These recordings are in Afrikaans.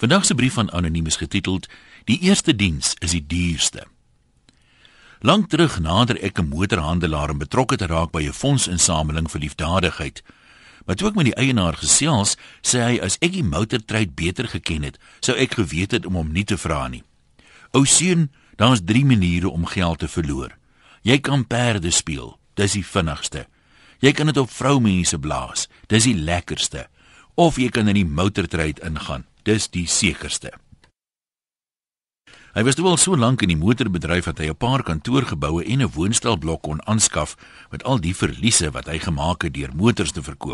Vandag se brief van Anoniem is getiteld Die eerste diens is die duurste. Lang terug nader ek 'n motorhandelaar om betrokke te raak by 'n fondsinsameling vir liefdadigheid. Maar toe ek met die eienaar gesels, sê hy as ek die motortryd beter geken het, sou ek geweet het om hom nie te vra nie. Ou seun, daar is 3 maniere om geld te verloor. Jy kan perde speel, dis die vinnigste. Jy kan dit op vroumense blaas, dis die lekkerste. Of jy kan in die motortryd ingaan, dis die sekerste. Hy was toe al so lank in die motorbedryf dat hy 'n paar kantoorgeboue en 'n woonstelblok kon aanskaf met al die verliese wat hy gemaak het deur motors te verkoop.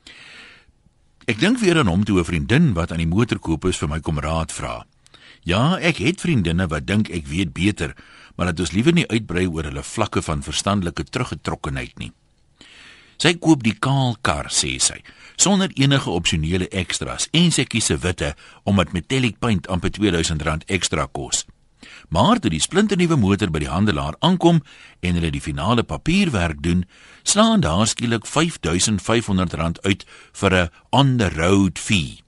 Ek dink weer aan hom toe 'n vriendin wat aan die motorkoop is vir my kom raad vra. Ja, ek het vriendinne wat dink ek weet beter, maar dat ons liewer nie uitbrei oor hulle vlakke van verstandelike teruggetrokkenheid nie. Sy koop die kaal kar, sê sy, sonder enige opsionele extras en sy kies 'n witte omdat metallic paint amper R2000 ekstra kos. Maar toe die splinternuwe motor by die handelaar aankom en hulle die finale papierwerk doen, slaan daar skielik R5500 uit vir 'n on-the-road fee.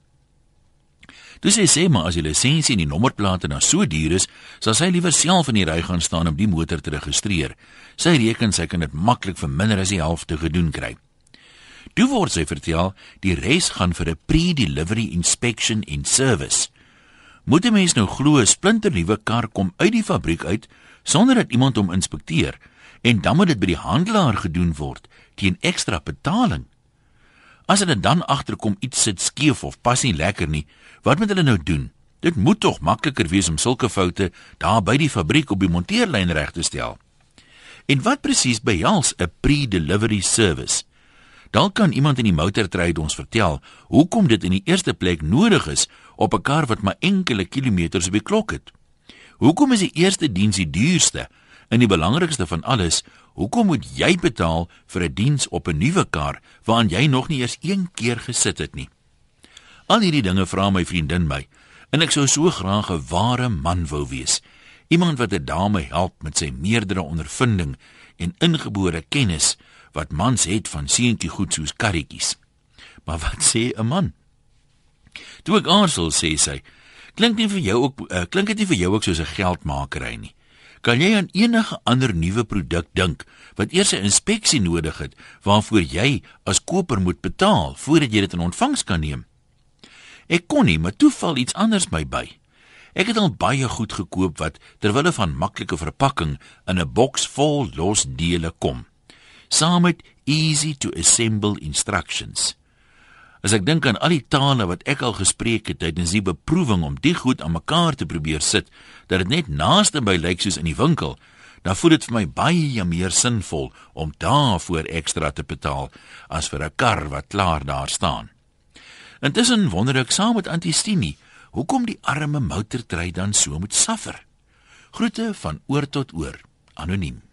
Dus sy sê maar as die lisensie en die nommerplate nou so duur is, sal sy liewer self in die ry gaan staan om die motor te registreer. Sy reken sy kan dit maklik vir minder as die helfte gedoen kry. Toe word sy vertel, die res gaan vir 'n pre-delivery inspection en service. Moet 'n mens nou glo 'n splinternuwe kar kom uit die fabriek uit, sonder dat iemand hom inspekteer, en dan moet dit by die handelaar gedoen word, teen ekstra betaling. As hulle dan agterkom iets sit skeef of pas nie lekker nie, wat moet hulle nou doen? Dit moet tog makliker wees om sulke foute daar by die fabriek op die monteerlyn reg te stel. En wat presies behels 'n pre-delivery service? Dan kan iemand in die motortryd ons vertel hoekom dit in die eerste plek nodig is op 'n kar wat maar enkele kilometers op die klok het. Hoekom is die eerste diens die duurste? En die belangrikste van alles, hoekom moet jy betaal vir 'n diens op 'n nuwe kar waaraan jy nog nie eers een keer gesit het nie? Al hierdie dinge vra my vriendin my, en ek sou so graag 'n ware man wou wees. Iemand wat 'n dame help met sy meerdere ondervinding en ingebore kennis wat mans het van seentjie goed soos karretjies. Maar wat sê 'n man? Toe ek aarzel, sê sy, klink dit nie vir jou ook soos 'n geldmakery nie? Kan jy aan enige ander nuwe produk dink wat eers 'n inspeksie nodig het waarvoor jy as koper moet betaal voordat jy dit in ontvangs kan neem? Ek kon nie, maar toe val iets anders my by. Ek het al baie goed gekoop wat terwille van maklike verpakking in 'n boks vol los dele kom, saam met easy to assemble instructions. As ek dink aan al die tale wat ek al gespreek het tydens die beproewing om die goed aan mekaar te probeer sit, dat dit net naaste by lyk soos in die winkel, dan voel dit vir my baie meer sinvol om daarvoor ekstra te betaal as vir 'n kar wat klaar daar staan. Intussen wonder ek saam met Auntie Stini, hoekom die arme motortryd dan so moet suffer. Groete van oor tot oor, Anoniem.